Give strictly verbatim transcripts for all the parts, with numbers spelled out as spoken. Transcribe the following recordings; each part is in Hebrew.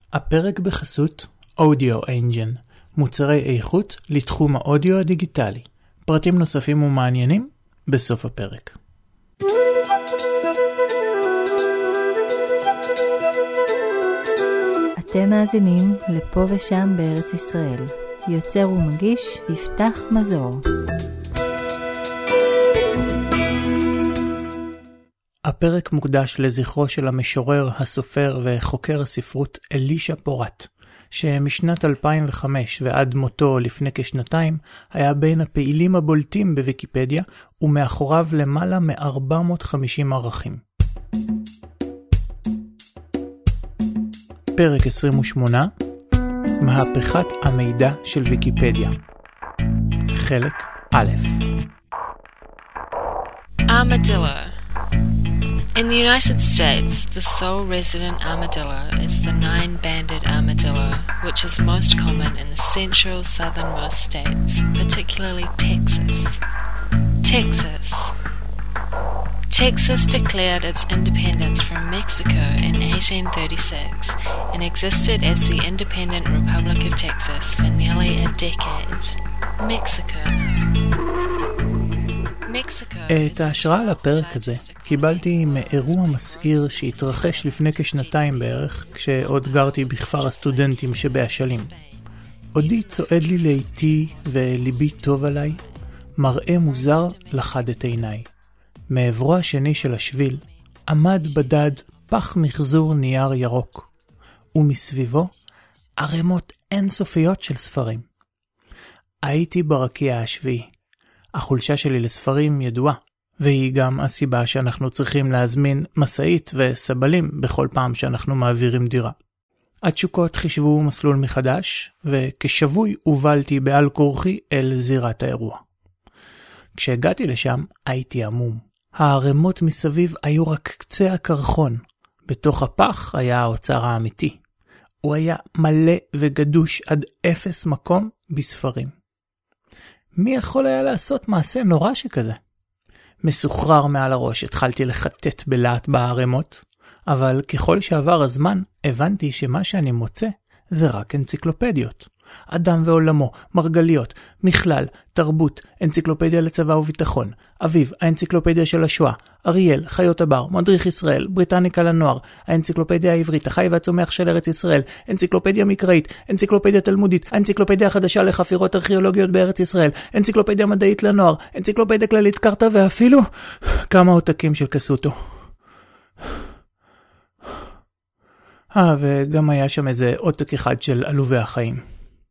הפרק בחסות Audio Engine, מוצרי איכות לתחום האודיו הדיגיטלי. פרטים נוספים ומעניינים בסוף הפרק. אתם מאזינים לפה ושם בארץ ישראל. יוצר ומגיש יפתח מזור. הפרק מוקדש לזכרו של המשורר, הסופר וחוקר הספרות אלישע פורט, שמשנת אלפיים וחמש ועד מותו לפני כשנתיים היה בין הפעילים הבולטים בוויקיפדיה ומאחוריו למעלה מ-ארבע מאות וחמישים ערכים. פרק עשרים ושמונה, מהפכת המידע של ויקיפדיה. חלק א'. Armadillo. In the United States, the sole resident armadillo is the nine-banded armadillo, which is most common in the central southernmost states, particularly Texas. Texas. Texas declared its independence from Mexico in eighteen thirty-six and existed as the independent Republic of Texas for nearly a decade. Mexico. את ההשראה לפרק הזה קיבלתי מאירוע מסעיר שהתרחש לפני כשנתיים בערך, כשעוד גרתי בכפר הסטודנטים שבאשלים. עודי צועד לי לאיתי וליבי טוב עליי, מראה מוזר לחד את עיניי. מעברו השני של השביל עמד בדד פח מחזור נייר ירוק, ומסביבו ערימות אינסופיות של ספרים. הייתי ברקיע השביעי. החולשה שלי לספרים ידועה, והיא גם הסיבה שאנחנו צריכים להזמין מסעית וסבלים בכל פעם שאנחנו מעבירים דירה. התשוקות חישבו מסלול מחדש, וכשבוי הובלתי בעל כורחי אל זירת האירוע. כשהגעתי לשם הייתי עמום. הערימות מסביב היו רק קצה הקרחון. בתוך הפח היה האוצר האמיתי. הוא היה מלא וגדוש עד אפס מקום בספרים. מי יכול היה לעשות מעשה נורא שכזה? מסוחרר מעל הראש התחלתי לחטט בלהט בערימות, אבל ככל שעבר הזמן הבנתי שמה שאני מוצא זה רק אנציקלופדיות. אדם ועולמו, מרגליות, מכלל, תרבות, אנציקלופדיה לצבא וביטחון, אביב, האנציקלופדיה של השואה, אריאל, חיות הבר, מדריך ישראל, בריטניקה לנוער, האנציקלופדיה העברית, החי והצומח של ארץ ישראל, אנציקלופדיה מקראית, אנציקלופדיה תלמודית, האנציקלופדיה החדשה לחפירות ארכיאולוגיות בארץ ישראל, אנציקלופדיה מדעית לנוער, אנציקלופדיה כללית קרתא ואפילו כמה עותקים של קסוטו. אה, וגם היה שם איזה עותק אחד של עלובי החיים.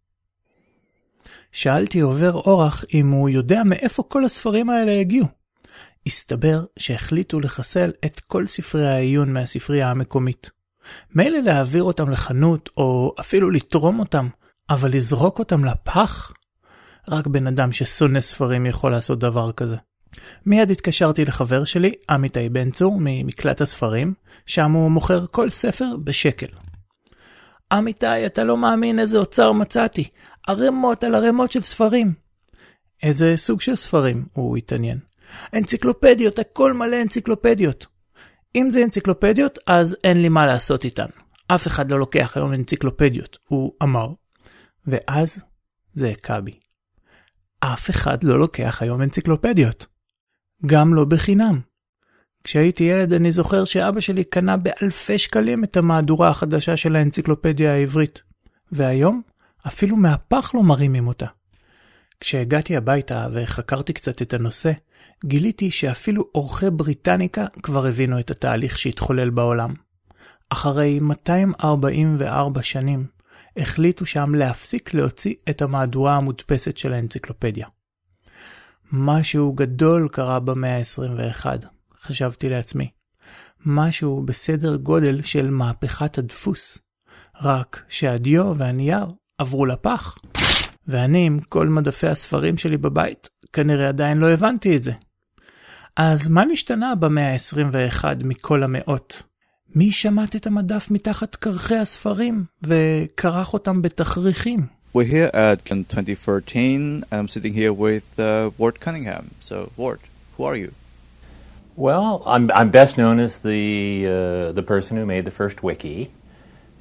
שאלתי עובר אורח אם הוא יודע מאיפה כל הספרים האלה הגיעו. הסתבר שהחליטו לחסל את כל ספרי העיון מהספרייה המקומית. מילא להעביר אותם לחנות או אפילו לתרום אותם, אבל לזרוק אותם לפח? רק בן אדם ששונא ספרים יכול לעשות דבר כזה. מיד התקשרתי לחבר שלי, עמיתי בן צור, ממקלט הספרים, שם הוא מוכר כל ספר בשקל. עמיתי, אתה לא מאמין איזה אוצר מצאתי. ערימות על ערימות של ספרים. איזה סוג של ספרים? הוא התעניין. אנציקלופדיות, הכל מלא אנציקלופדיות. אם זה אנציקלופדיות, אז אין לי מה לעשות איתן. אף אחד לא לוקח היום אנציקלופדיות, הוא אמר. ואז זה הקה בי. אף אחד לא לוקח היום אנציקלופדיות. גם לא בחינם. כשהייתי ילד אני זוכר שאבא שלי קנה באלפי שקלים את המהדורה החדשה של האנציקלופדיה העברית. והיום אפילו מהפח לא מרימים אותה. כשהגעתי הביתה וחקרתי קצת את הנושא, גיליתי שאפילו אורחי בריטניקה כבר הבינו את התהליך שהתחולל בעולם. אחרי מאתיים ארבעים וארבע שנים, החליטו שם להפסיק להוציא את המהדורה המודפסת של האנציקלופדיה. משהו גדול קרה במאה ה-עשרים ואחת, חשבתי לעצמי. משהו בסדר גודל של מהפכת הדפוס. רק שהדיו והנייר עברו לפח. ואני עם כל מדפי הספרים שלי בבית, כנראה עדיין לא הבנתי את זה. אז מה נשתנה במאה ה-עשרים ואחת מכל המאות? מי שמט את המדף מתחת קרחי הספרים וקרח אותם בתכריכים? We're here at in twenty fourteen. I'm sitting here with uh, Ward Cunningham. So, Ward, who are you? Well, I'm I'm best known as the uh, the person who made the first wiki,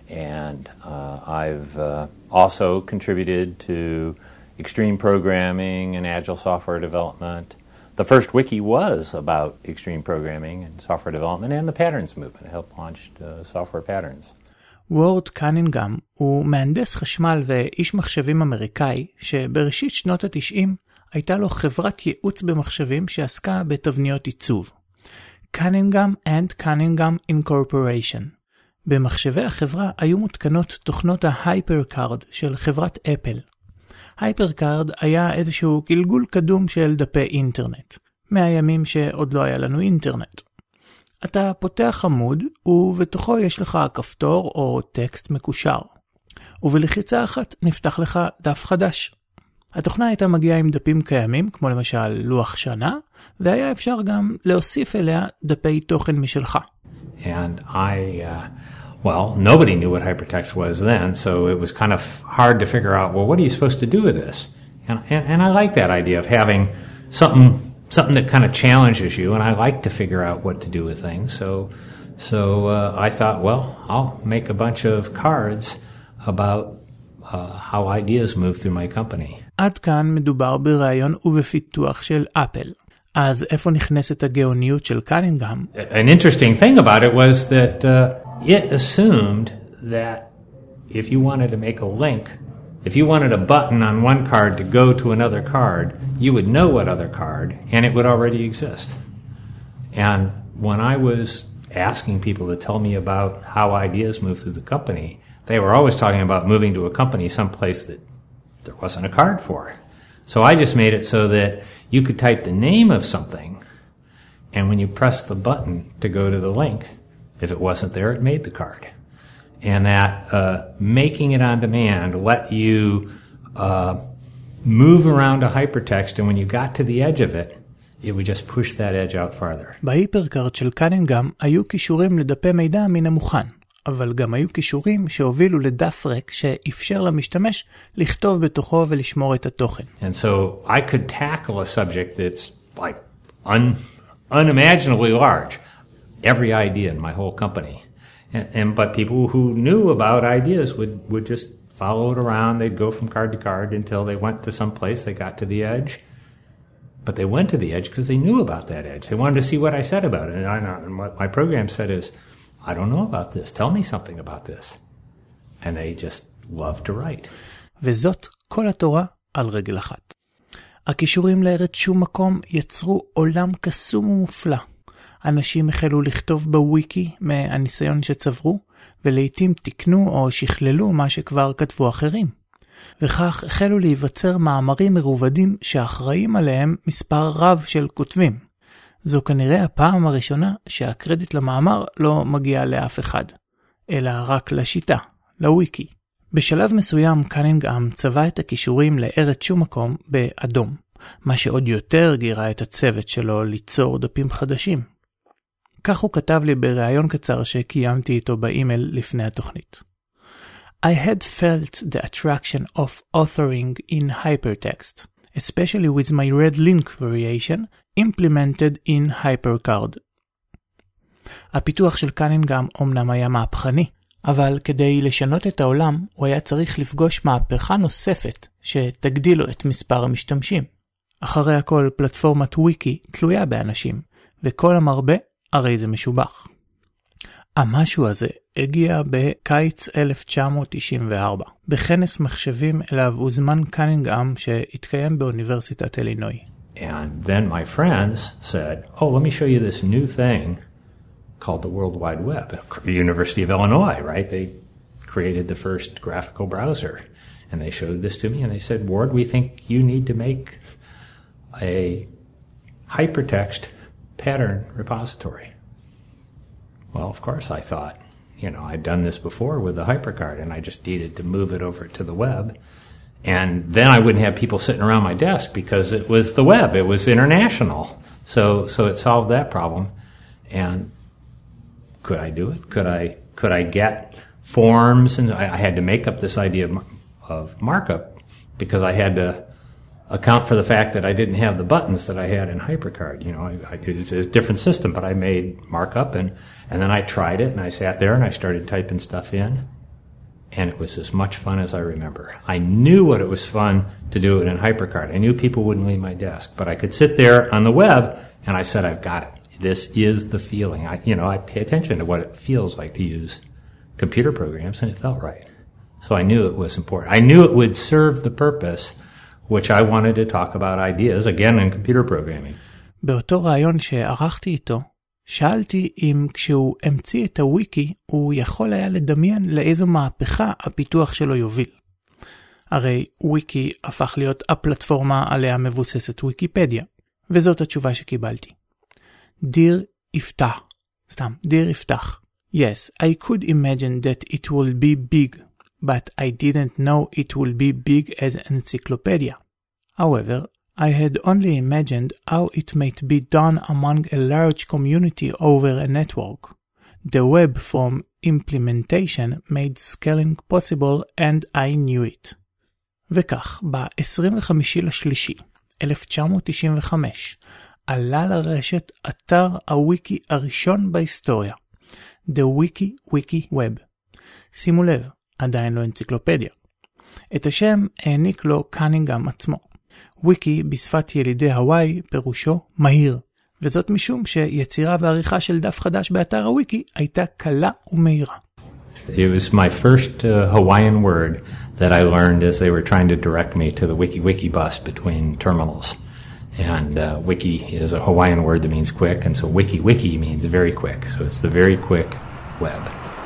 And uh, I've uh, also contributed to extreme programming and agile software development. The first wiki was about extreme programming and software development and the patterns movement. It helped launch uh, software patterns. וורד קנינגהאם הוא מהנדס חשמל ואיש מחשבים אמריקאי שבראשית שנות ה-תשעים הייתה לו חברת ייעוץ במחשבים שעסקה בתבניות עיצוב. קנינגהאם and Cunningham Incorporation. במחשבי החברה היו מותקנות תוכנות ההייפרקארד של חברת אפל. הייפרקארד היה איזשהו גלגול קדום של דפי אינטרנט, מהימים שעוד לא היה לנו אינטרנט. אתה פותח עמוד ובתוכו יש לך כפתור או טקסט מקושר, ובלחיצה אחת נפתח לך דף חדש. התוכנה הייתה מגיעה עם דפים קיימים, כמו למשל לוח שנה, והיה אפשר גם להוסיף אליה דפי תוכן משלך. And I, uh, well, nobody knew what hypertext was then, so it was kind of hard to figure out, well, what are you supposed to do with this? And, and, and I like that idea of having something something that kind of challenges you, and I like to figure out what to do with things. So so uh, I thought, well, I'll make a bunch of cards about uh, how ideas move through my company. עד כאן מדובר ברעיון ובפיתוח של אפל. אז איפה נכנסת הגאוניות של קנינגהאם? An interesting thing about it was that uh, it assumed that if you wanted to make a link, if you wanted a button on one card to go to another card, you would know what other card, and it would already exist. And when I was asking people to tell me about how ideas move through the company, they were always talking about moving to a company someplace that there wasn't a card for. So I just made it so that you could type the name of something, and when you press the button to go to the link, if it wasn't there, it made the card. And that uh, making it on demand let you uh, move around a hypertext, and when you got to the edge of it, it would just push that edge out farther. בהיפרקארד של קנינגהאם היו קישורים לדפי מידע מן המוכן, אבל גם היו קישורים שהובילו לדף ריק שאפשר למשתמש לכתוב בתוכו ולשמור את התוכן. And so I could tackle a subject that's like un, unimaginably large, every idea in my whole company. And, and but people who knew about ideas would, would just follow it around. They'd go from card to card until they went to some place, they got to the edge. But they went to the edge because they knew about that edge. They wanted to see what I said about it. And, I, and what my program said is, I don't know about this. Tell me something about this. And they just love to write. וזאת כל התורה על רגל אחת. הקישורים לארץ שום מקום יצרו עולם קסום ומופלא. אנשים החלו לכתוב בוויקי מהניסיון שצברו, ולעיתים תקנו או שכללו מה שכבר כתבו אחרים. וכך החלו להיווצר מאמרים מרובדים שאחראים עליהם מספר רב של כותבים. זו כנראה הפעם הראשונה שהקרדיט למאמר לא מגיע לאף אחד, אלא רק לשיטה, לוויקי. בשלב מסוים קנינגהאם צבע את הקישורים לארץ שום מקום באדום, מה שעוד יותר גירה את הצוות שלו ליצור דפים חדשים. כך הוא כתב לי בראיון קצר שקיימתי איתו באימייל לפני התוכנית. I had felt the attraction of authoring in hypertext, especially with my red link variation implemented in HyperCard. הפיתוח של קנינגהאם אומנם היה מהפכני, אבל כדי לשנות את העולם הוא היה צריך לפגוש מהפכה נוספת שתגדיל לו את מספר המשתמשים. אחרי הכל פלטפורמת וויקי תלויה באנשים, וכל המרבה הרי זה משובח. המשהו הזה הגיע בקיץ אלף תשע מאות תשעים וארבע, בכנס מחשבים אליו הוזמן קנינגהאם שהתקיים באוניברסיטת אלינוי. And then my friends said, oh, let me show you this new thing called the World Wide Web. The University of Illinois, right? They created the first graphical browser. And they showed this to me and they said, Ward, we think you need to make a hypertext pattern repository. Well, of course, I thought, you know, I'd done this before with the HyperCard and I just needed to move it over to the web. And then I wouldn't have people sitting around my desk because it was the web. It was international. So so it solved that problem. And could I do it? Could I could I get forms? And I, I had to make up this idea of, of markup because I had to account for the fact that I didn't have the buttons that I had in HyperCard. You know, I, I, it's a different system, but I made markup and, and then I tried it and I sat there and I started typing stuff in. And it was as much fun as I remember. I knew what it was fun to do it in HyperCard. I knew people wouldn't leave my desk, but I could sit there on the web and I said, I've got it. This is the feeling. I, you know, I pay attention to what it feels like to use computer programs, and it felt right. So I knew it was important. I knew it would serve the purpose, which I wanted to talk about ideas, again, in computer programming. באותו רעיון שערכתי איתו, שאלתי אם כשהוא המציא את הוויקי, הוא יכול היה לדמיין לאיזו מהפכה הפיתוח שלו יוביל. הרי וויקי הפך להיות הפלטפורמה עליה מבוססת ויקיפדיה, וזאת התשובה שקיבלתי. דיר יפתח, סתם, דיר יפתח. Yes, I could imagine that it will be big, but I didn't know it will be big as an encyclopedia. However, I had only imagined how it might be done among a large community over a network. The web from implementation made scaling possible and I knew it. וכך, ב-עשרים וחמישה לשלישי, אלף תשע מאות תשעים וחמש, עלה לרשת אתר הוויקי הראשון בהיסטוריה, The Wiki Wiki Web. שימו לב, עדיין לא אנציקלופדיה. את השם העניק לו קנינגהם עצמו. וויקי בשפת ילידי הוואי פירושו מהיר, וזאת משום שיצירה ועריכה של דף חדש באתר הוויקי הייתה קלה ומהירה. It was my first uh, Hawaiian word that I learned as they were trying to direct me to the Wiki Wiki bus between terminals. And uh, wiki is a Hawaiian word that means quick, and so Wiki Wiki means very quick. So it's the very quick web.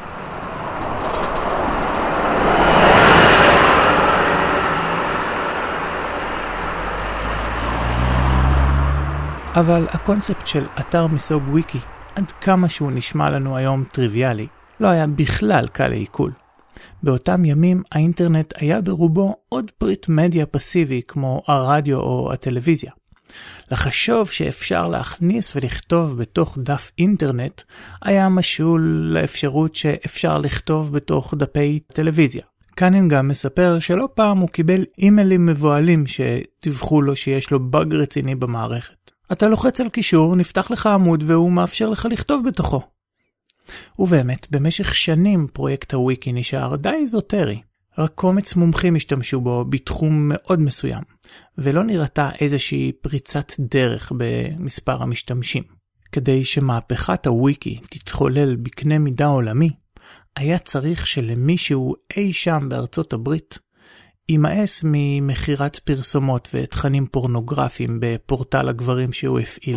אבל הקונספט של אתר מסוג וויקי, עד כמה שהוא נשמע לנו היום טריוויאלי, לא היה בכלל קל לעיכול. באותם ימים האינטרנט היה ברובו עוד פריט מדיה פסיבי כמו הרדיו או הטלוויזיה. לחשוב שאפשר להכניס ולכתוב בתוך דף אינטרנט היה משול לאפשרות שאפשר לכתוב בתוך דפי טלוויזיה. קנינגהם מספר שלא פעם הוא קיבל אימיילים מבועלים שדיווחו לו שיש לו בג רציני במערכת. אתה לוחץ על קישור, נפתח לך עמוד והוא מאפשר לך לכתוב בתוכו. ובאמת, במשך שנים פרויקט הוויקי נשאר די איזוטרי. רק קומץ מומחים השתמשו בו בתחום מאוד מסוים, ולא נראתה איזושהי פריצת דרך במספר המשתמשים. כדי שמהפכת הוויקי תתחולל בקנה מידה עולמי, היה צריך שלמישהו אי שם בארצות הברית יימאס ממחירת פרסומות ותכנים פורנוגרפיים בפורטל הגברים שהוא הפעיל.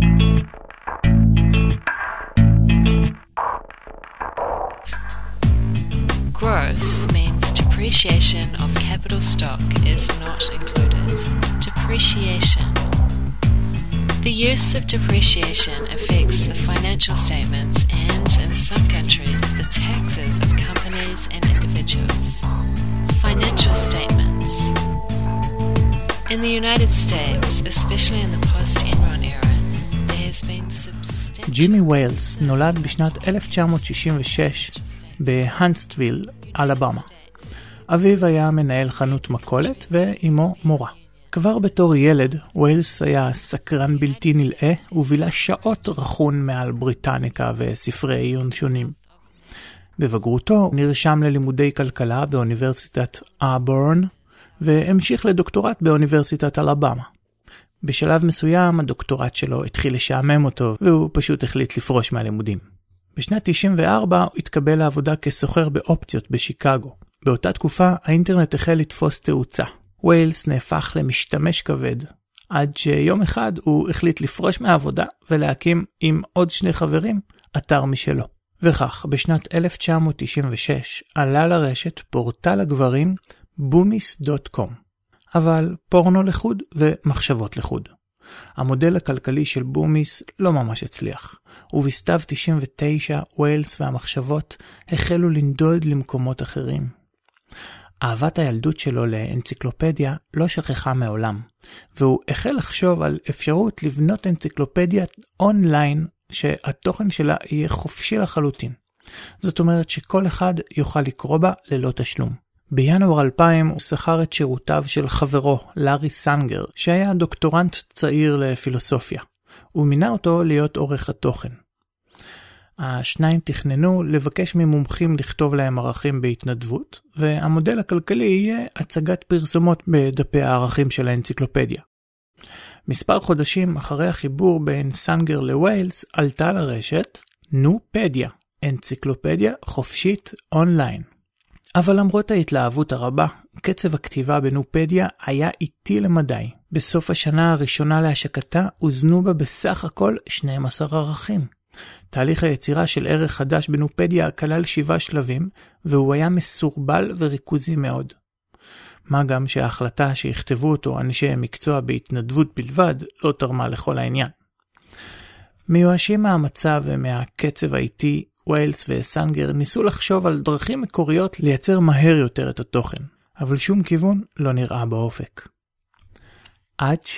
Gross means depreciation of capital stock is not included. Depreciation. The use of depreciation affects the financial statements and, in some countries, the taxes of companies and individuals. Financial statements. In the United States, especially in the post-Enron era, there has been substantial... ג'ימי ויילס נולד בשנת אלף תשע מאות שישים ושש בהנסטוויל, אלבמה. אביו היה מנהל חנות מכולת ואימו מורה. כבר בתור ילד, ויילס היה סקרן בלתי נלאה ובילה שעות רכון מעל בריטניקה וספרי עיון שונים. בבגרותו נרשם ללימודי כלכלה באוניברסיטת אברן והמשיך לדוקטורט באוניברסיטת אלבמה. בשלב מסוים הדוקטורט שלו התחיל לשעמם אותו והוא פשוט החליט לפרוש מהלימודים. בשנת תשעים וארבע הוא התקבל לעבודה כסוחר באופציות בשיקגו. באותה תקופה האינטרנט החל לתפוס תאוצה. ויילס נהפך למשתמש כבד, עד שיום אחד הוא החליט לפרוש מהעבודה ולהקים עם עוד שני חברים אתר משלו. וכך, בשנת אלף תשע מאות תשעים ושש עלה לרשת פורטל הגברים בומיס דוט קום. אבל פורנו לחוד ומחשבות לחוד. המודל הכלכלי של בומיס לא ממש הצליח, ובסתיו תשעים ותשע ויילס והמחשבות החלו לנדוד למקומות אחרים. אהבת הילדות שלו לאנציקלופדיה לא שכחה מעולם, והוא החל לחשוב על אפשרות לבנות אנציקלופדיה אונליין שהתוכן שלה יהיה חופשי לחלוטין. זאת אומרת שכל אחד יוכל לקרוא בה ללא תשלום. בינואר אלפיים הוא שכר את שירותיו של חברו, לארי סנגר, שהיה דוקטורנט צעיר לפילוסופיה. הוא מינה אותו להיות עורך התוכן. השניים תכננו לבקש ממומחים לכתוב להם ערכים בהתנדבות, והמודל הכלכלי יהיה הצגת פרסומות בדפי הערכים של האנציקלופדיה. מספר חודשים אחרי החיבור בין סנגר לווילס עלתה לרשת נופדיה, אנציקלופדיה חופשית אונליין. אבל למרות ההתלהבות הרבה, קצב הכתיבה בנופדיה היה איטי למדי. בסוף השנה הראשונה להשקתה הוזנו בה בסך הכל שנים עשר ערכים. תהליך היצירה של ערך חדש בנופדיה כלל שבעה שלבים, והוא היה מסורבל וריכוזי מאוד. מה גם שההחלטה שיכתבו אותו אנשי מקצוע בהתנדבות בלבד לא תרמה לכל העניין. מיואשים מהמצב ומהקצב האיטי, ווילס וסנגר ניסו לחשוב על דרכים מקוריות לייצר מהר יותר את התוכן, אבל שום כיוון לא נראה באופק. עד ש...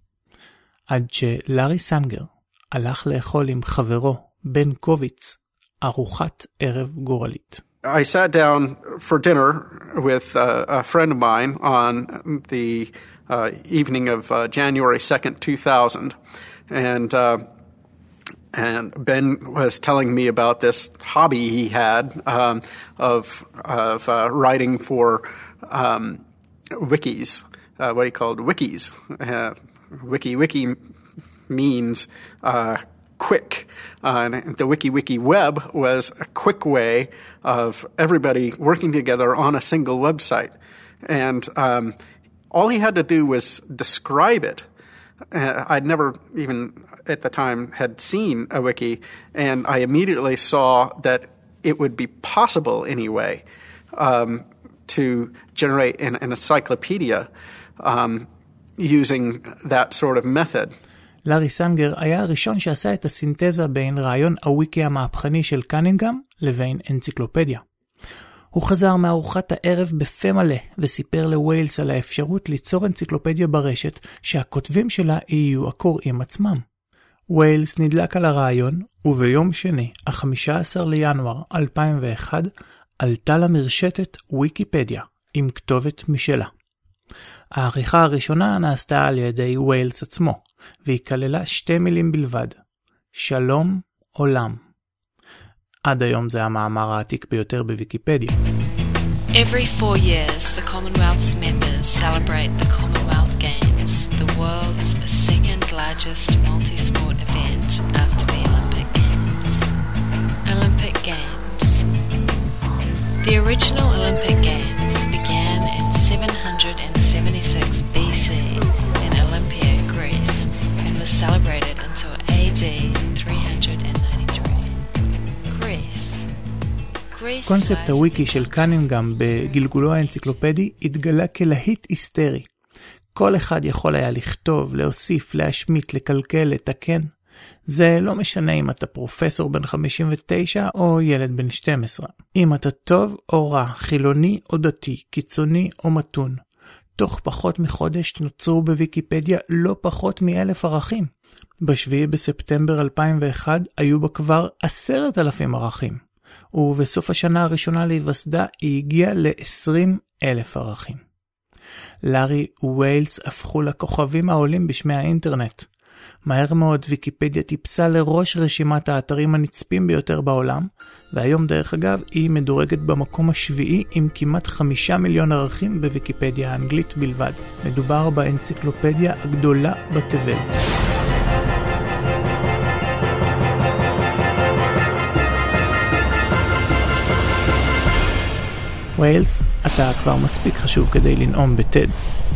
עד שלארי סנגר הלך לאכול עם חברו בן קוביץ ארוחת ערב גורלית. I sat down for dinner with uh, a friend of mine on the uh, evening of uh, January second, two thousand, and uh, and Ben was telling me about this hobby he had um, of of uh, writing for um, wikis, uh, what he called wikis. Uh, wiki wiki means uh, quick. Uh, and the Wiki Wiki Web was a quick way of everybody working together on a single website. And um, all he had to do was describe it. Uh, I'd never even at the time had seen a wiki, and I immediately saw that it would be possible anyway um, to generate an, an encyclopedia um, using that sort of method. לארי סנגר היה הראשון שעשה את הסינתזה בין רעיון הוויקי המהפכני של קנינגהם לבין אנציקלופדיה. הוא חזר מארוחת הערב בפה מלא וסיפר לווילס על האפשרות ליצור אנציקלופדיה ברשת שהכותבים שלה יהיו הקוראים עצמם. ווילס נדלק על הרעיון, וביום שני, ה-חמישה עשר לינואר אלפיים ואחת, עלתה למרשתת ויקיפדיה עם כתובת משלה. העריכה הראשונה נעשתה על ידי ווילס עצמו, והיא כללה שתי מילים בלבד, שלום עולם. עד היום זה המאמר העתיק ביותר בוויקיפדיה. Every four years, the Commonwealth's members celebrate the Commonwealth Games, the world's second largest multi-sport event after the Olympic Games. Olympic Games. The original Olympic Games began in seven hundred seventy-six B C in Olympia, Greece, and was celebrated until A D three ninety-three. Greece. Greece קונספט הוויקי של קנינגהם בגלגולו האנציקלופדי התגלה כלהיט היסטרי. כל אחד יכול היה לכתוב, להוסיף, להשמיט, לקלקל, לתקן. זה לא משנה אם אתה פרופסור בן חמישים ותשע או ילד בן שתים עשרה. אם אתה טוב או רע, חילוני או דתי, קיצוני או מתון. תוך פחות מחודש נוצרו בוויקיפדיה לא פחות מאלף ערכים. בשביעי בספטמבר אלפיים ואחת היו בה כבר עשרת אלפים ערכים. ובסוף השנה הראשונה להיווסדה היא הגיעה ל-עשרים אלף ערכים. לארי ווילס הפכו לכוכבים העולים בשמי האינטרנט. מהר מאוד ויקיפדיה טיפסה לראש רשימת האתרים הנצפים ביותר בעולם, והיום דרך אגב היא מדורגת במקום השביעי עם כמעט חמישה מיליון ערכים בוויקיפדיה האנגלית בלבד. מדובר באנציקלופדיה הגדולה בתבל. ווילס, אתה כבר מספיק חשוב כדי לנאום בטד.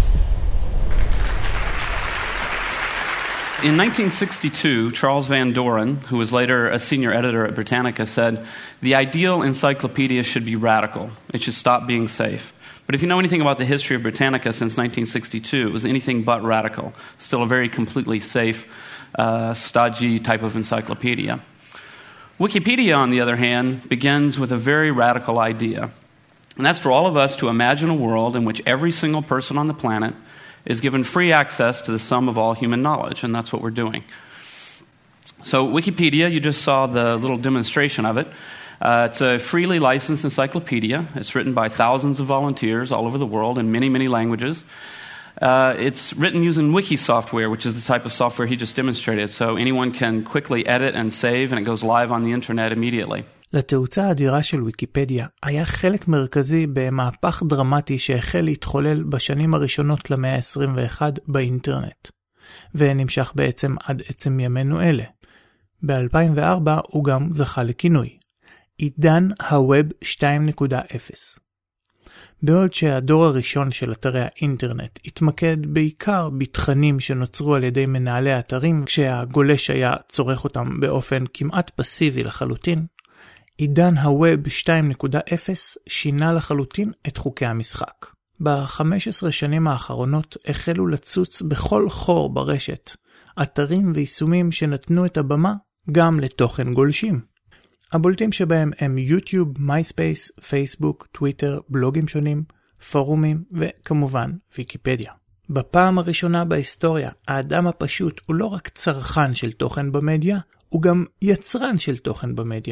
In nineteen sixty-two, Charles Van Doren, who was later a senior editor at Britannica, said, "The ideal encyclopedia should be radical. It should stop being safe." But if you know anything about the history of Britannica since nineteen sixty-two, it was anything but radical. Still a very completely safe, uh, stodgy type of encyclopedia. Wikipedia, on the other hand, begins with a very radical idea. And that's for all of us to imagine a world in which every single person on the planet is given free access to the sum of all human knowledge, and that's what we're doing. So Wikipedia, you just saw the little demonstration of it. Uh, it's a freely licensed encyclopedia. It's written by thousands of volunteers all over the world in many, many languages. Uh, it's written using wiki software, which is the type of software he just demonstrated. So anyone can quickly edit and save, and it goes live on the internet immediately. לתאוצה האדירה של ויקיפדיה היה חלק מרכזי במהפך דרמטי שהחל להתחולל בשנים הראשונות למאה ה-עשרים ואחת באינטרנט, ונמשך בעצם עד עצם ימינו אלה. ב-אלפיים וארבע הוא גם זכה לכינוי, עידן הווב שתיים נקודה אפס. בעוד שהדור הראשון של אתרי האינטרנט התמקד בעיקר בתכנים שנוצרו על ידי מנהלי אתרים, כשהגולש היה צורך אותם באופן כמעט פסיבי לחלוטין, עידן הווב שתיים נקודה אפס שינה לחלוטין את חוקי המשחק. ב-חמש עשרה שנים האחרונות החלו לצוץ בכל חור ברשת אתרים ויישומים שנתנו את הבמה גם לתוכן גולשים. הבולטים שבהם הם יוטיוב, מייספייס, פייסבוק, טוויטר, בלוגים שונים, פורומים וכמובן ויקיפדיה. בפעם הראשונה בהיסטוריה, האדם הפשוט הוא לא רק צרכן של תוכן במדיה, הוא גם יצרן של תוכן במדיה.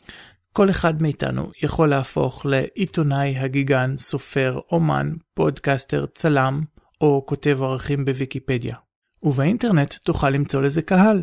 כל אחד מאיתנו יכול להפוך לעיתונאי, הגיגן, סופר, אומן, פודקאסטר, צלם או כותב ערכים בוויקיפדיה. ובאינטרנט תוכל למצוא לזה קהל.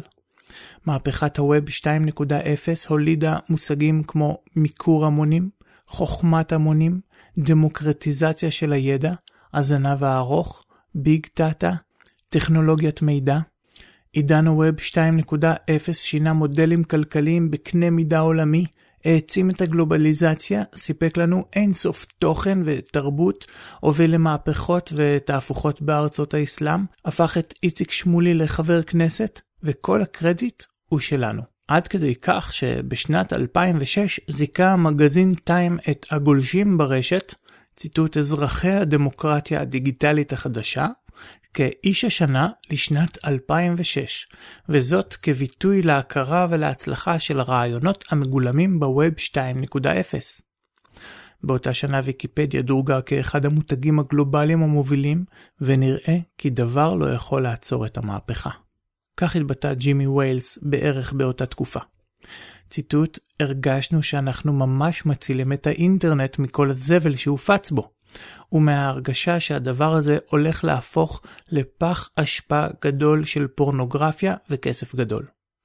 מהפכת הווב שתיים נקודה אפס הולידה מושגים כמו מיקור המונים, חוכמת המונים, דמוקרטיזציה של הידע, הזנב הארוך, ביג דאטה, טכנולוגיית מידע. עידן הווב שתיים נקודה אפס שינה מודלים כלכליים בקנה מידה עולמי, העצים את הגלובליזציה, סיפק לנו אינסוף תוכן ותרבות, הוביל למהפכות ותהפוכות בארצות האסלאם, הפך את איציק שמולי לחבר כנסת, וכל הקרדיט הוא שלנו. עד כדי כך שבשנת אלפיים ושש זיכה המגזין טיים את הגולשים ברשת, ציטוט אזרחי הדמוקרטיה הדיגיטלית החדשה, כאיש השנה לשנת אלפיים ושש, וזאת כביטוי להכרה ולהצלחה של הרעיונות המגולמים בווב שתיים נקודה אפס. באותה שנה ויקיפדיה דורגה כאחד המותגים הגלובליים המובילים, ונראה כי דבר לא יכול לעצור את המהפכה. כך התבטא ג'ימי ויילס בערך באותה תקופה. ציטוט, הרגשנו שאנחנו ממש מצילים את האינטרנט מכל הזבל שהופץ בו, ומההרגשה שהדבר הזה הולך להפוך לפח אשפה גדול של פורנוגרפיה וכסף גדול.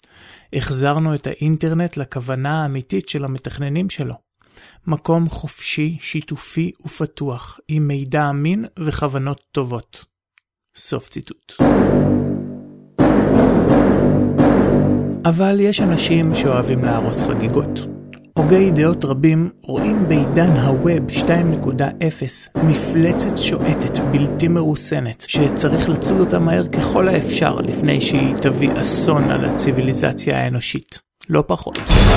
החזרנו את האינטרנט לכוונה האמיתית של המתכננים שלו. מקום חופשי, שיתופי ופתוח, עם מידע אמין וכוונות טובות. סוף ציטוט. אבל יש אנשים שאוהבים להרוס חגיגות. הוגי דעות רבים רואים בעידן הווב שתיים נקודה אפס מפלצת שועטת בלתי מרוסנת שצריך לצוד אותה מהר ככל האפשר לפני שהיא תביא אסון על הציביליזציה האנושית. לא פחות.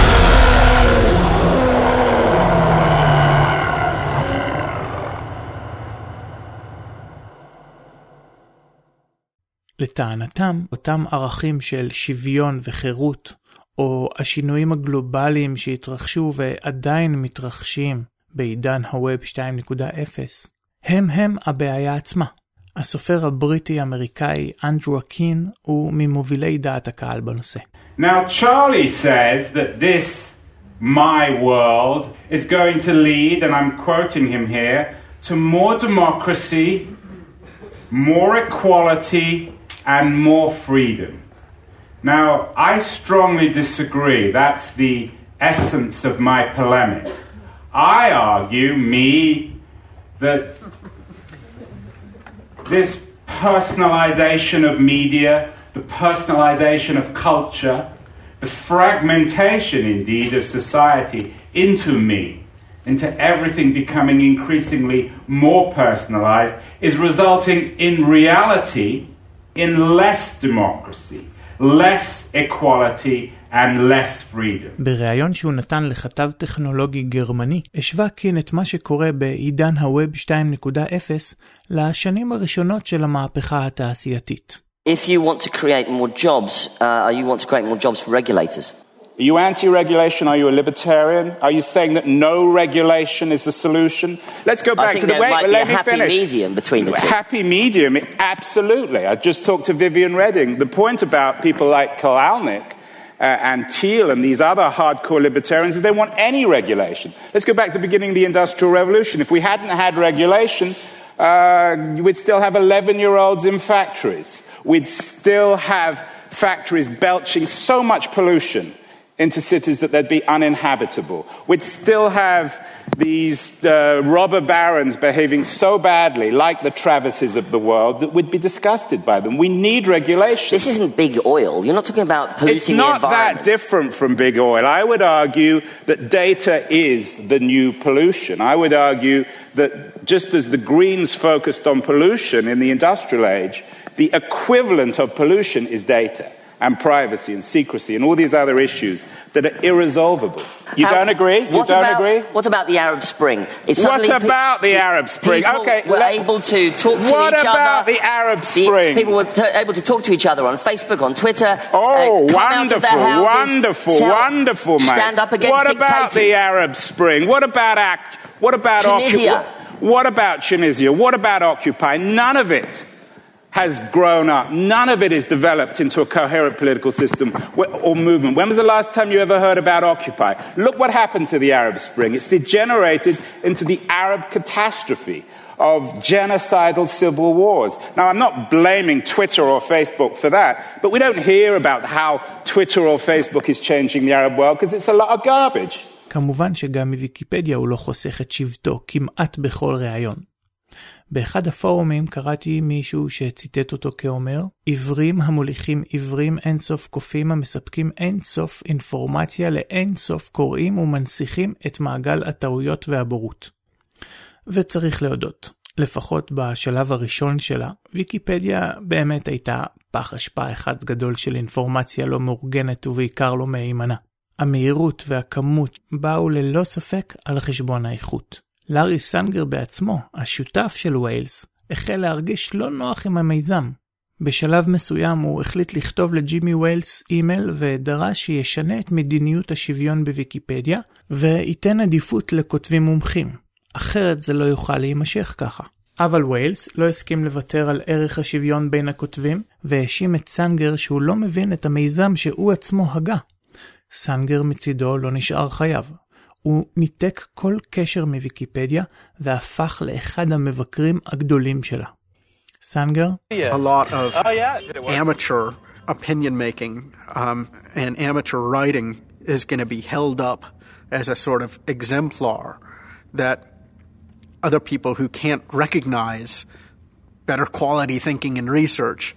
לטענתם, אותם ערכים של שוויון וחירות, או השינויים הגלובליים שהתרחשו ועדיין מתרחשים בעידן הווב שתיים נקודה אפס, הם הם הבעיה עצמה. הסופר הבריטי-אמריקאי אנדרו אקין הוא ממובילי דעת הקהל בנושא. Now Charlie says that this my world is going to lead, and I'm quoting him here, to more democracy, more equality, and more freedom. Now, I strongly disagree. That's the essence of my polemic. I argue, me, that this personalization of media, the personalization of culture, the fragmentation, indeed, of society into me, into everything becoming increasingly more personalized, is resulting in reality in less democracy, less equality and less freedom. בריאיון שהוא נתן לכתב טכנולוגי גרמני, השווה קין את מה שקורה בעידן הווב שתיים נקודה אפס לשנים הראשונות של המהפכה התעשייתית. If you want to create more jobs, uh, you want to create more jobs for regulators. Are you anti-regulation? Are you a libertarian? Are you saying that no regulation is the solution? Let's go back to the... I think there wait, might let be a me happy finish. medium between the two. Happy medium, absolutely. I just talked to Vivian Redding. The point about people like Kolalnik uh, and Thiel and these other hardcore libertarians is they want any regulation. Let's go back to the beginning of the Industrial Revolution. If we hadn't had regulation, Uh, we'd still have eleven-year-olds in factories. We'd still have factories belching so much pollution into cities that they'd be uninhabitable. We'd still have these uh, robber barons behaving so badly, like the Travises of the world, that we'd be disgusted by them. We need regulation. This isn't big oil. You're not talking about polluting the environment. It's not that different from big oil. I would argue that data is the new pollution. I would argue that just as the Greens focused on pollution in the industrial age, the equivalent of pollution is data and privacy and secrecy and all these other issues that are irresolvable. You How, don't agree? You what don't about, agree? What about the Arab Spring? It's what about pe- the Arab Spring? People okay, were let, able to talk to what each other. What about the Arab Spring? The, people were t- able to talk to each other on Facebook, on Twitter. Oh, uh, wonderful, houses, wonderful, tell, wonderful, mate. Stand up against what dictators. about the Arab Spring? What about act? What about Tunisia? Occup- what about Tunisia? What about Occupy? None of it has grown up. None of it is developed into a coherent political system or movement. When was the last time you ever heard about Occupy? Look what happened to the Arab Spring. It's degenerated into the Arab catastrophe of genocidal civil wars. Now, I'm not blaming Twitter or Facebook for that, but we don't hear about how Twitter or Facebook is changing the Arab world because it's a lot of garbage. כמובן שגם מוויקיפדיה הוא לא חוסך את שבטו כמעט בכל ראיון. באחד הפורומים קראתי מישהו שציטט אותו כאומר, עברים המוליכים עברים אינסוף קופים המספקים אינסוף אינפורמציה לאינסוף קוראים ומנסיכים את מעגל הטעויות והבורות. וצריך להודות, לפחות בשלב הראשון שלה, ויקיפדיה באמת הייתה פח אשפה אחד גדול של אינפורמציה לא מאורגנת ובעיקר לא מהימנה. המהירות והכמות באו ללא ספק על חשבון האיכות. לארי סנגר בעצמו, השותף של ויילס, החל להרגיש לא נוח עם המיזם. בשלב מסוים הוא החליט לכתוב לג'ימי ויילס אימייל ודרש שישנה את מדיניות השוויון בוויקיפדיה וייתן עדיפות לכותבים מומחים. אחרת זה לא יוכל להימשך ככה. אבל ויילס לא הסכים לוותר על ערך השוויון בין הכותבים והאשים את סנגר שהוא לא מבין את המיזם שהוא עצמו הגה. סנגר מצידו לא נשאר חייב. הוא ניתק כל קשר מוויקיפדיה והפך לאחד המבקרים הגדולים שלה. סנגר? A lot of amateur opinion making um, and amateur writing is going to be held up as a sort of exemplar that other people who can't recognize better quality thinking and research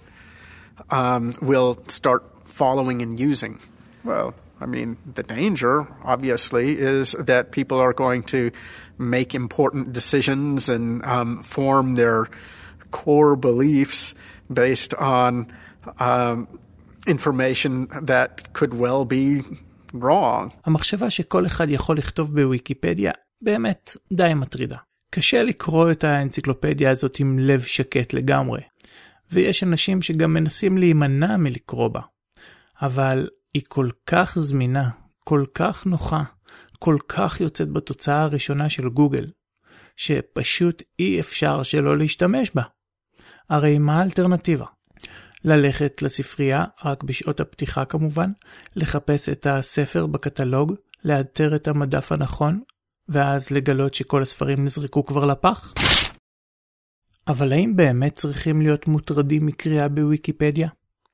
um, will start following and using. Well, I mean, the danger, obviously, is that people are going to make important decisions and um, form their core beliefs based on um, information that could well be wrong. המחשבה שכל אחד יכול לכתוב בוויקיפדיה באמת די מטרידה. קשה לקרוא את האנציקלופדיה הזאת עם לב שקט לגמרי, ויש אנשים שגם מנסים להימנע מלקרוא בה. אבל היא כל כך זמינה, כל כך נוחה, כל כך יוצאת בתוצאה הראשונה של גוגל, שפשוט אי אפשר שלא להשתמש בה. הרי מה האלטרנטיבה? ללכת לספרייה, רק בשעות הפתיחה כמובן, לחפש את הספר בקטלוג, לאתר את המדף הנכון, ואז לגלות שכל הספרים נזרקו כבר לפח? אבל האם באמת צריכים להיות מוטרדים מקריאה בוויקיפדיה?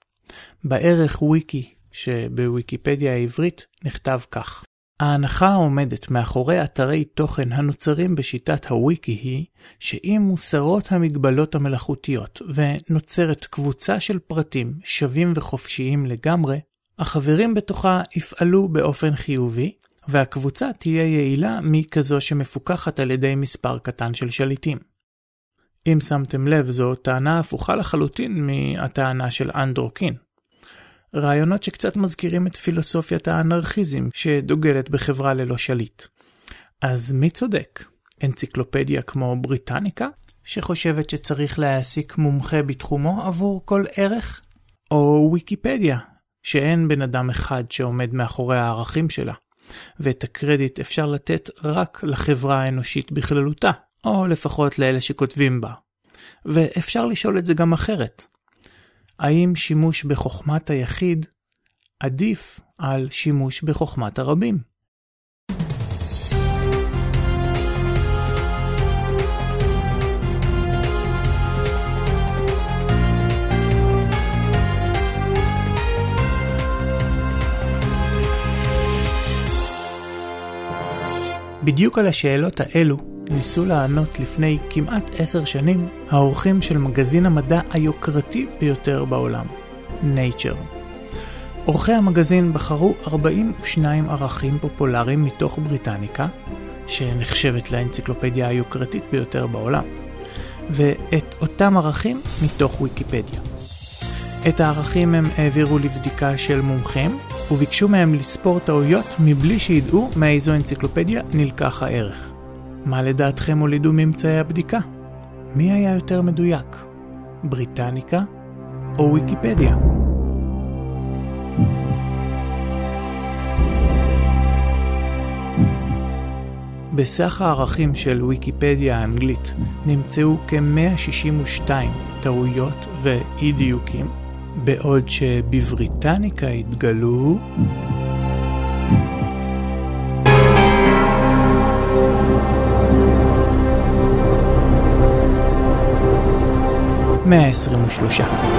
בערך וויקי, שבוויקיפדיה העברית נכתב כך. ההנחה העומדת מאחורי אתרי תוכן הנוצרים בשיטת הוויקי היא שאם מוסרות המגבלות המלאכותיות ונוצרת קבוצה של פרטים שווים וחופשיים לגמרי, החברים בתוכה יפעלו באופן חיובי והקבוצה תהיה יעילה מכזו שמפוקחת על ידי מספר קטן של שליטים. אם שמתם לב, זו טענה הפוכה לחלוטין מהטענה של אנדרוקין. רעיונות שקצת מזכירים את פילוסופיית האנרכיזם שדוגלת בחברה ללא שליט. אז מי צודק? אנציקלופדיה כמו בריטניקה, שחושבת שצריך להעסיק מומחה בתחומו עבור כל ערך? או ויקיפדיה, שאין בן אדם אחד שעומד מאחורי הערכים שלה, ואת הקרדיט אפשר לתת רק לחברה האנושית בכללותה, או לפחות לאלה שכותבים בה. ואפשר לשאול את זה גם אחרת. האם שימוש בחוכמת היחיד עדיף על שימוש בחוכמת הרבים? בדיוק על השאלות האלו ניסו לענות לפני כמעט עשר שנים העורכים של מגזין המדע היוקרתי ביותר בעולם, Nature. עורכי המגזין בחרו ארבעים ושניים ערכים פופולריים מתוך בריטניקה, שנחשבת לאנציקלופדיה היוקרתית ביותר בעולם, ואת אותם ערכים מתוך ויקיפדיה. את הערכים הם העבירו לבדיקה של מומחים, וביקשו מהם לספור טעויות מבלי שידעו מאיזו אנציקלופדיה נלקח הערך. מה לדעתכם הולידו ממצאי הבדיקה? מי היה יותר מדויק? בריטניקה או ויקיפדיה? בסך הערכים של ויקיפדיה האנגלית נמצאו כ-מאה שישים ושתיים טעויות ואי דיוקים, בעוד שבבריטניקה התגלו מאה עשרים ושלוש.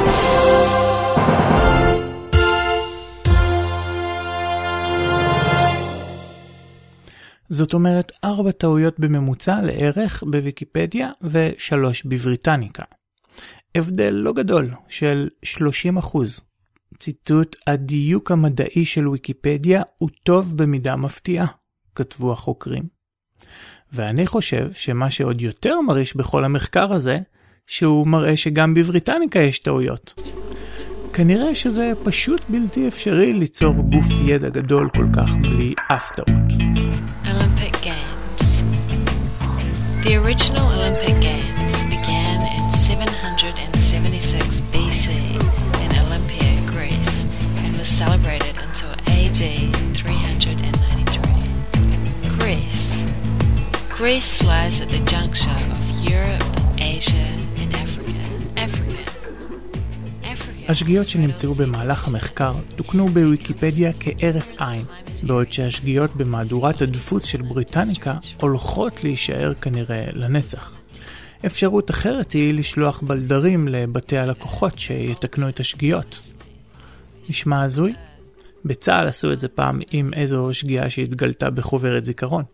זאת אומרת ארבע טעויות בממוצע לערך בוויקיפדיה ושלוש בבריטניקה. הבדל לא גדול של שלושים אחוז. ציטוט: הדיוק המדעי של ויקיפדיה הוא טוב במידה מפתיעה, כתבו החוקרים. ואני חושב שמה שעוד יותר מרעיש בכל המחקר הזה, שהוא מראה שגם בבריטניקה יש טעויות. כנראה שזה פשוט בלתי אפשרי ליצור גוף ידע גדול כל כך בלי אף טעות. Olympic Games. The original Olympic Games began in seven hundred seventy-six B C in Olympia, Greece, and was celebrated until A D three hundred ninety-three. Greece. Greece lies at the juncture of Europe, Asia, and Africa. Africa. השגיאות שנמצאו במהלך המחקר תוקנו בוויקיפדיה כערף עין, בעוד שהשגיאות במהדורת הדפוס של בריטניקה הולכות להישאר כנראה לנצח. אפשרות אחרת היא לשלוח בלדרים לבתי הלקוחות שיתקנו את השגיאות. נשמע הזוי? בצה"ל עשו את זה פעם עם איזו שגיאה שהתגלתה בחוברת זיכרון.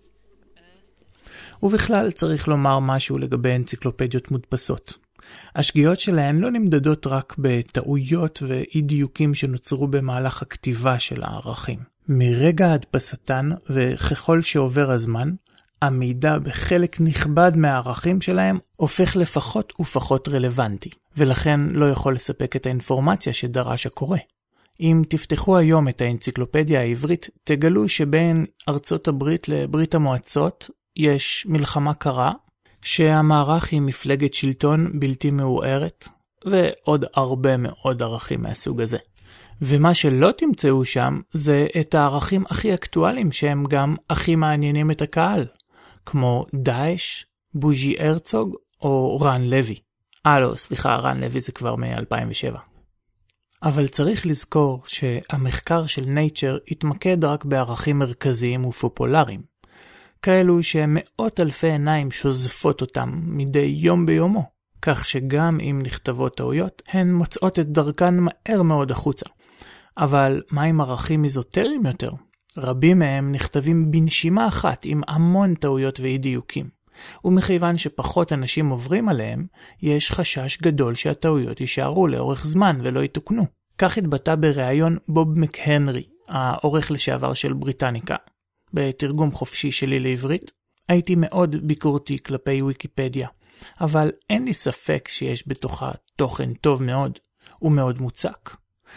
ובכלל צריך לומר משהו לגבי אנציקלופדיות מודפסות. השגיאות שלהן לא נמדדות רק בטעויות ואי דיוקים שנוצרו במהלך הכתיבה של הערכים. מרגע הדפסתן וככל שעובר הזמן, המידע בחלק נכבד מהערכים שלהם הופך לפחות ופחות רלוונטי, ולכן לא יכול לספק את האינפורמציה שדרש הקורא. אם תפתחו היום את האנציקלופדיה העברית, תגלו שבין ארצות הברית לברית המועצות יש מלחמה קרה, שהמערך היא מפלגת שלטון בלתי מעורערת, ועוד הרבה מאוד ערכים מהסוג הזה. ומה שלא תמצאו שם זה את הערכים הכי אקטואליים שהם גם הכי מעניינים את הקהל, כמו דאעש, בוז'י הרצוג או רן לוי. אה לא, סליחה, רן לוי זה כבר מ-אלפיים ושבע. אבל צריך לזכור שהמחקר של Nature התמקד רק בערכים מרכזיים ופופולריים, כאלו שמאות אלפי עיניים שוזפות אותם מדי יום ביומו, כך שגם אם נכתבות טעויות, הן מוצאות את דרכן מהר מאוד החוצה. אבל מה עם ערכים איזוטריים יותר? רבים מהם נכתבים בנשימה אחת עם המון טעויות ואי דיוקים. ומכיוון שפחות אנשים עוברים עליהם, יש חשש גדול שהטעויות יישארו לאורך זמן ולא יתוקנו. כך התבטא בריאיון בוב מקהנרי, העורך לשעבר של בריטניקה. בתרגום חופשי שלי לעברית, הייתי מאוד ביקורתי כלפי ויקיפדיה, אבל אין לי ספק שיש בתוכה תוכן טוב מאוד ומאוד מוצק.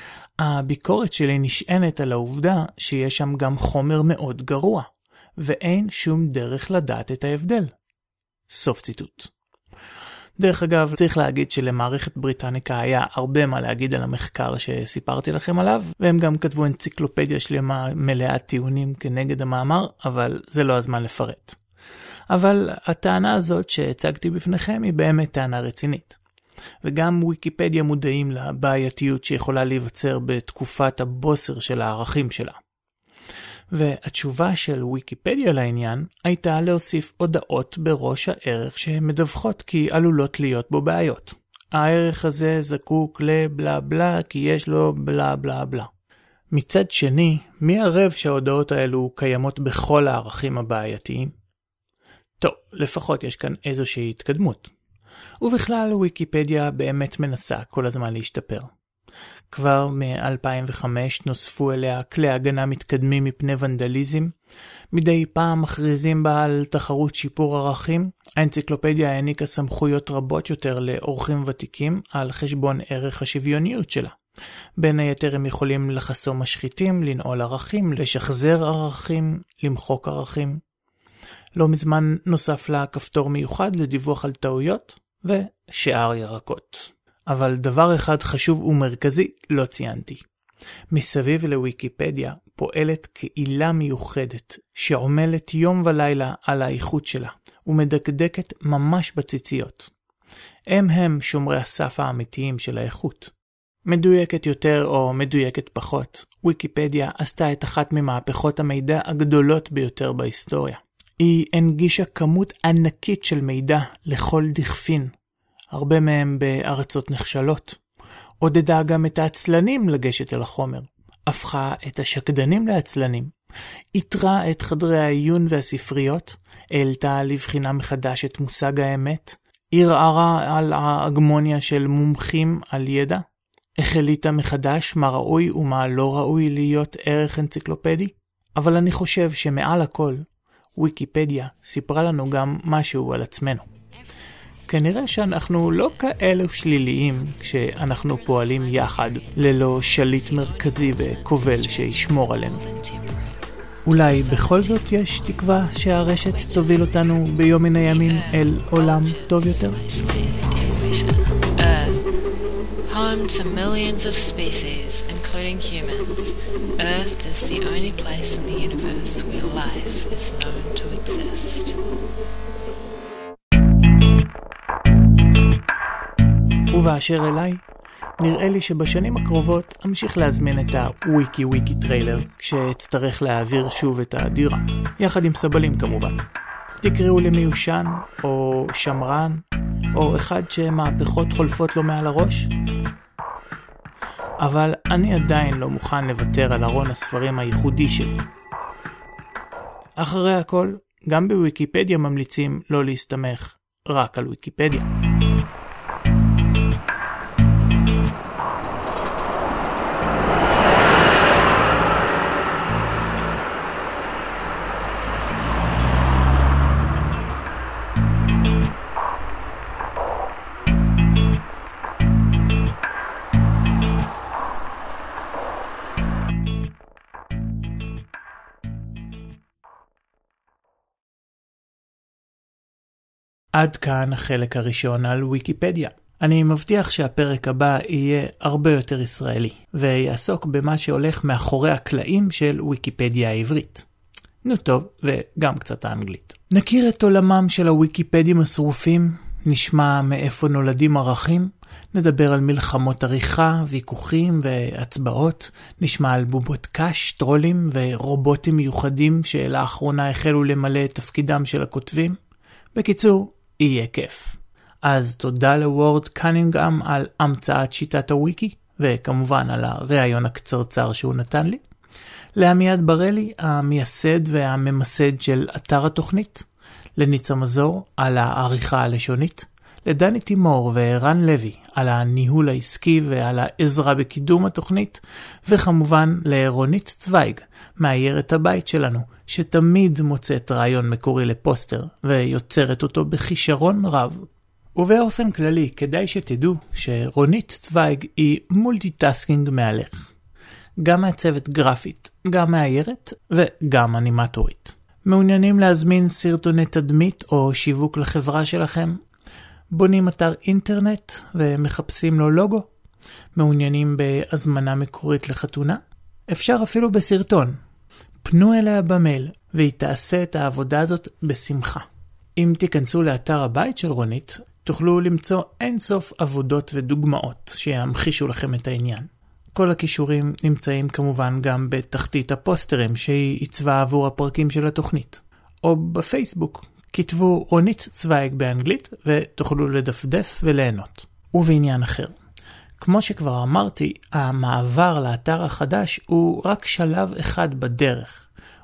הביקורת שלי נשענת על העובדה שיש שם גם חומר מאוד גרוע, ואין שום דרך לדעת את ההבדל. סוף ציטוט. דרך אגב, צריך להגיד שלמערכת בריטניקה היה הרבה מה להגיד על המחקר שסיפרתי לכם עליו, והם גם כתבו אנציקלופדיה שלמה מלאת טיעונים כנגד המאמר, אבל זה לא הזמן לפרט. אבל הטענה הזאת שהצגתי בפניכם היא באמת טענה רצינית. וגם ויקיפדיה מודעים לבעייתיות שיכולה להיווצר בתקופת הבוסר של הערכים שלה. והתשובה של ויקיפדיה לעניין הייתה להוסיף הודעות בראש הערך שמדווחות כי עלולות להיות בו בעיות. הערך הזה זקוק לבלה בלה כי יש לו בלה בלה בלה. מצד שני, מי ערב שההודעות האלו קיימות בכל הערכים הבעייתיים? טוב, לפחות יש כאן איזושהי התקדמות. ובכלל ויקיפדיה באמת מנסה כל הזמן להשתפר. כבר מ-אלפיים וחמש נוספו אליה כלי הגנה מתקדמים מפני ונדליזם. מדי פעם מכריזים בה על תחרות שיפור ערכים. האנציקלופדיה העניקה סמכויות רבות יותר לאורחים ותיקים על חשבון ערך השוויוניות שלה. בין היתר הם יכולים לחסום משחיתים, לנעול ערכים, לשחזר ערכים, למחוק ערכים. לא מזמן נוסף לה כפתור מיוחד לדיווח על טעויות ושאר ירקות. אבל דבר אחד חשוב ומרכזי לא ציינתי. מסביב לוויקיפדיה פועלת קהילה מיוחדת שעומלת יום ולילה על האיכות שלה ומדקדקת ממש בציציות. הם הם שומרי הסף האמיתיים של האיכות. מדויקת יותר או מדויקת פחות, ויקיפדיה עשתה את אחת ממהפכות המידע הגדולות ביותר בהיסטוריה. היא הנגישה כמות ענקית של מידע לכל דכפין, הרבה מהם בארצות נחשלות. עודדה גם את העצלנים לגשת אל החומר, הפכה את השקדנים לעצלנים, יתרה את חדרי העיון והספריות, העלתה לבחינה מחדש את מושג האמת, ערערה על ההגמוניה של מומחים על ידע, החליטה מחדש מה ראוי ומה לא ראוי להיות ערך אנציקלופדי, אבל אני חושב שמעל הכל, ויקיפדיה סיפרה לנו גם משהו על עצמנו. כנראה שאנחנו לא כאלו שליליים כשאנחנו פועלים יחד ללא שליט מרכזי וכובל שישמור עלינו. אולי בכל זאת יש תקווה שהרשת תוביל אותנו ביום מן הימים אל עולם טוב יותר? Home to millions of species, including humans, Earth is the only place in the universe where life is known to exist. ובאשר אליי, נראה לי שבשנים הקרובות אמשיך להזמין את הוויקי וויקי טריילר כשאצטרך להעביר שוב את הדירה, יחד עם סבלים כמובן. תקראו לי מיושן, או שמרן, או אחד שמהפכות חולפות לו מעל הראש. אבל אני עדיין לא מוכן לוותר על ארון הספרים הייחודי שלי. אחרי הכל, גם בוויקיפדיה ממליצים לא להסתמך רק על ויקיפדיה. עד כאן החלק הראשון על ויקיפדיה. אני מבטיח שהפרק הבא יהיה הרבה יותר ישראלי, ויעסוק במה שהולך מאחורי הקלעים של ויקיפדיה העברית. נו טוב, וגם קצת האנגלית. נכיר את עולמם של הוויקיפדים השרופים, נשמע מאיפה נולדים ערכים, נדבר על מלחמות עריכה, ויכוחים והצבעות, נשמע על בובות קש, טרולים ורובוטים מיוחדים שלאחרונה החלו למלא את תפקידם של הכותבים. בקיצור, יהיה כיף. אז תודה לוורד קנינגהאם על המצאת שיטת הוויקי, וכמובן על הרעיון הקצרצר שהוא נתן לי. לעמיעד ברלי, המייסד והממסד של אתר התוכנית. לניצה מזור על העריכה הלשונית. לדני תימור וערן לוי על הניהול העסקי ועל העזרה בקידום התוכנית. וכמובן לרונית צוויג, מאיירת הבית שלנו, שתמיד מוצאת רעיון מקורי לפוסטר ויוצרת אותו בכישרון רב. ובאופן כללי, כדאי שתדעו שרונית צוויג היא מולטיטאסקינג מהלך. גם מעצבת גרפית, גם מאיירת וגם אנימטורית. מעוניינים להזמין סרטוני תדמית או שיווק לחברה שלכם? בונים אתר אינטרנט ומחפשים לו לוגו? מעוניינים בהזמנה מקורית לחתונה? אפשר אפילו בסרטון. פנו אליה במייל והיא תעשה את העבודה הזאת בשמחה. אם תיכנסו לאתר הבית של רונית, תוכלו למצוא אינסוף עבודות ודוגמאות שימחישו לכם את העניין. כל הכישורים נמצאים כמובן גם בתחתית הפוסטרים שהיא עיצבה עבור הפרקים של התוכנית. או בפייסבוק, כתבו רונית צוויג באנגלית ותוכלו לדפדף וליהנות. ובעניין אחר. כמו שכבר אמרתי, המעבר לאתר החדש הוא רק שלב אחד בדרך.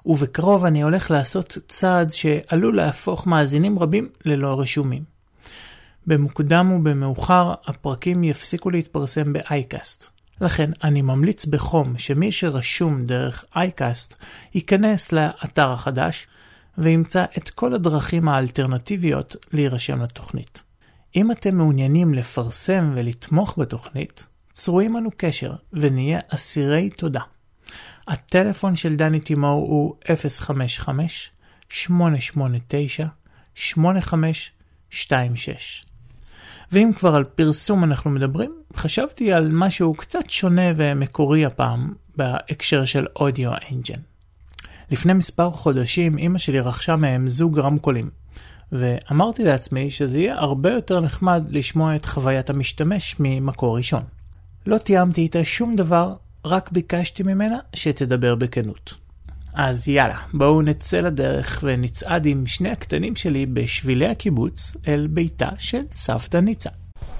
ובקרוב אני הולך לעשות צעד שעלול להפוך מאזינים רבים ללא רשומים. במוקדם ובמאוחר הפרקים יפסיקו להתפרסם באייקאסט. לכן אני ממליץ בחום שמי שרשום דרך אייקאסט ייכנס לאתר החדש וימצא את כל הדרכים האלטרנטיביות להירשם לתוכנית. אם אתם מעוניינים לפרסם ולתמוך בתוכנית, צרו עמנו קשר ונהיה אסירי תודה. הטלפון של דני תימור הוא אפס חמש חמש שמונה שמונה תשע שמונה חמש שתיים שש. ואם כבר על פרסום אנחנו מדברים, חשבתי על משהו קצת שונה ומקורי הפעם בהקשר של אודיו אנג'ן. לפני מספר חודשים אמא שלי רכשה מהם זוג רמקולים, ואמרתי לעצמי שזה יהיה הרבה יותר נחמד לשמוע את חוויית המשתמש ממקור ראשון. לא תיאמתי איתה שום דבר, רק ביקשתי ממנה שתדבר בכנות. אז יאללה, בואו נצא לדרך ונצעד עם שני הקטנים שלי בשבילי הקיבוץ אל ביתה של סבתא ניצה.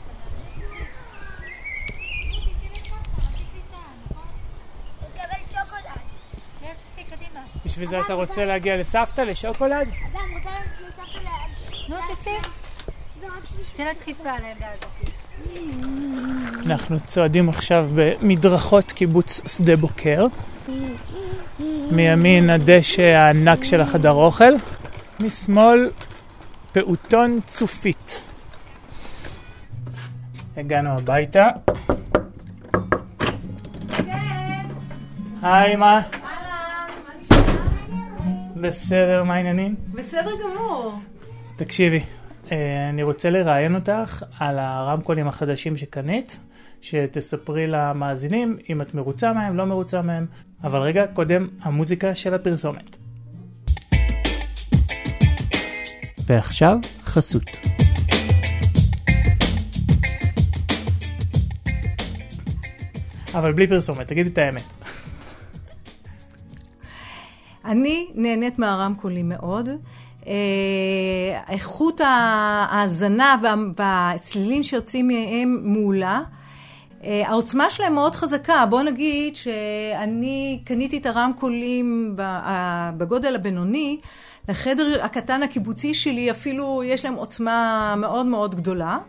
בשביל זה אתה רוצה להגיע לסבתא, לשוקולד? נו, תסי. תן לה דחיפה על הילדה הזאת. אנחנו צועדים עכשיו במדרכות קיבוץ שדה בוקר. מימין הדשא הענק של החדר אוכל. משמאל פעוטון צופית. הגענו הביתה. היי, מה? בסדר, מה העניינים? בסדר גמור. תקשיבי, אני רוצה לראיין אותך על הרמקולים החדשים שקנית, שתספרי למאזינים אם את מרוצה מהם, לא מרוצה מהם. אבל רגע, קודם המוזיקה של הפרסומת. ועכשיו חסות. אבל בלי פרסומת, תגידי את האמת. אני נהנית מהרמקולים מאוד. איכות ההאזנה והצלילים שיוצאים מהם מעולה. העוצמה שלהם מאוד חזקה. בוא נגיד שאני קניתי את הרמקולים בגודל הבינוני, לחדר הקטן הקיבוצי שלי אפילו יש להם עוצמה מאוד מאוד גדולה.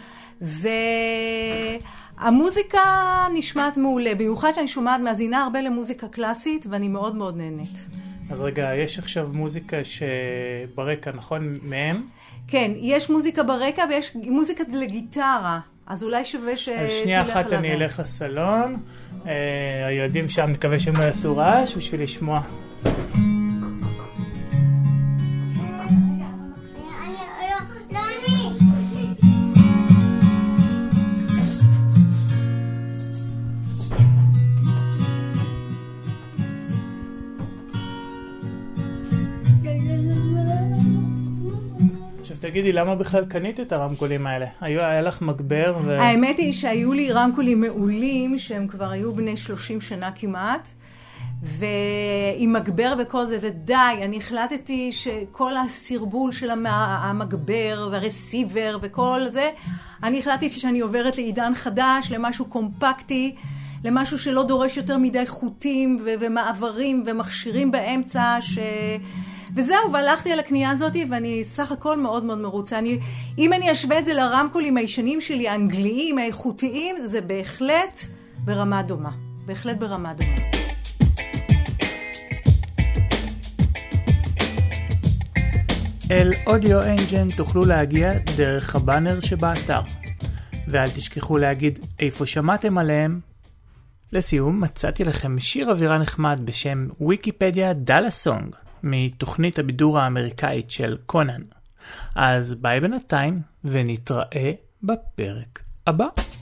והמוזיקה נשמעת מעולה, במיוחד שאני שומעת מאזינה הרבה למוזיקה קלאסית ואני מאוד מאוד נהנית. אז רגע, יש עכשיו מוזיקה שברקע, נכון, מהם? כן, יש מוזיקה ברקע ויש מוזיקה לגיטרה, אז אולי שווה ש... אז שנייה אחת אני אלך לסלון, הילדים שם נקווה שהם לא יעשו רעש בשביל לשמוע. תגידי, למה בכלל קנית את הרמקולים האלה? היה, היה לך מגבר ו... האמת היא שהיו לי רמקולים מעולים, שהם כבר היו בני שלושים שנה כמעט, ועם מגבר וכל זה, ודי, אני החלטתי שכל הסרבול של המגבר והרסיבר וכל זה, אני החלטתי שאני עוברת לעידן חדש, למשהו קומפקטי, למשהו שלא דורש יותר מדי חוטים ו- ומעברים ומכשירים באמצע, ש... וזהו, והלכתי על הקנייה הזאת, ואני סך הכל מאוד מאוד מרוצה. אני, אם אני אשווה את זה לרמקולים הישנים שלי, האנגליים, האיכותיים, זה בהחלט ברמה דומה. בהחלט ברמה דומה. אל אודיו אנג'ן תוכלו להגיע דרך הבאנר שבאתר. ואל תשכחו להגיד איפה שמעתם עליהם. לסיום, מצאתי לכם שיר אווירה נחמד בשם ויקיפדיה דאלה סונג. מתוכנית הבידור האמריקאית של קונן. אז ביי בינתיים, ונתראה בפרק הבא.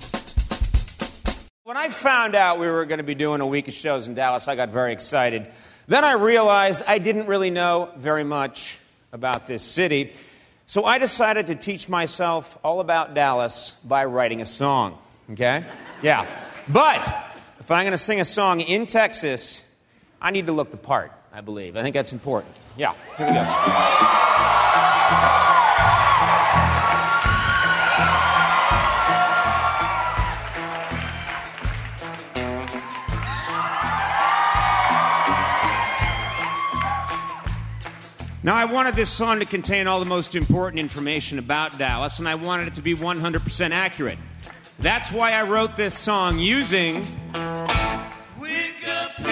When I found out we were going to be doing a week of shows in Dallas, I got very excited. Then I realized I didn't really know very much about this city. So I decided to teach myself all about Dallas by writing a song. Okay? Yeah. But if I'm going to sing a song in Texas, I need to look the part. I believe. I think that's important. Yeah, here we go. Now, I wanted this song to contain all the most important information about Dallas, and I wanted it to be one hundred percent accurate. That's why I wrote this song using Wikipedia.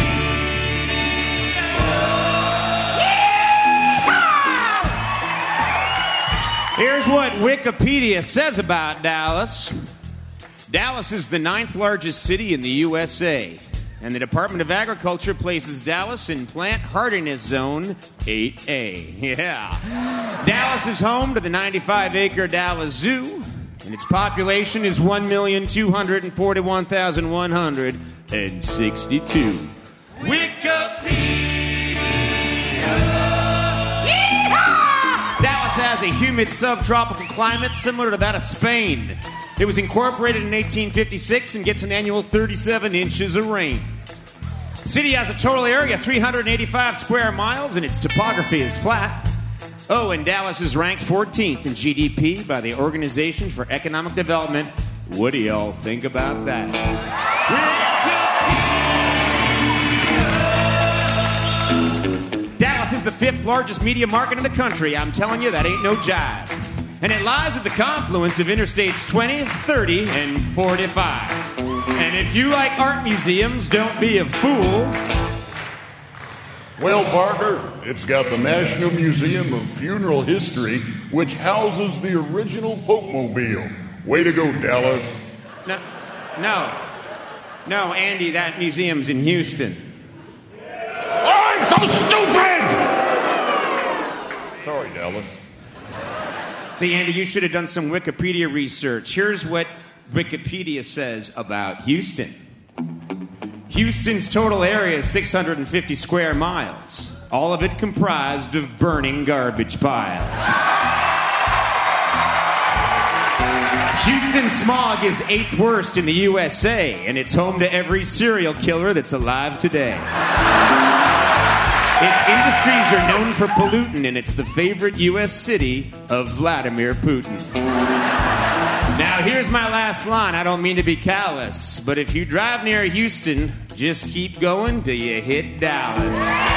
Here's what Wikipedia says about Dallas. Dallas is the ninth largest city in the U S A, and the Department of Agriculture places Dallas in Plant Hardiness Zone eight A. Yeah. Dallas is home to the ninety-five acre Dallas Zoo, and its population is one million two hundred forty-one thousand one hundred sixty-two. Wikipedia! Yeehaw! Dallas has a humid subtropical climate similar to that of Spain. It was incorporated in eighteen fifty-six and gets an annual thirty-seven inches of rain. The city has a total area of three hundred eighty-five square miles, and its topography is flat. Oh, and Dallas is ranked fourteenth in G D P by the Organization for Economic Development. What do y'all think about that? Dallas is the fifth largest media market in the country. I'm telling you, that ain't no jive. And it lies at the confluence of Interstates twenty, thirty, and forty-five. And if you like art museums, don't be a fool. Well, Barker, it's got the National Museum of Funeral History, which houses the original Pope-mobile. Way to go, Dallas. No, no, no, Andy, that museum's in Houston. I'm so stupid! Sorry, Dallas. See, Andy, you should have done some Wikipedia research. Here's what Wikipedia says about Houston. Houston's total area is six hundred fifty square miles, all of it comprised of burning garbage piles. Houston smog is eighth worst in the U S A, and it's home to every serial killer that's alive today. Its industries are known for pollutant, and it's the favorite U S city of Vladimir Putin. Now, here's my last line. I don't mean to be callous, but if you drive near Houston, just keep going till you hit Dallas.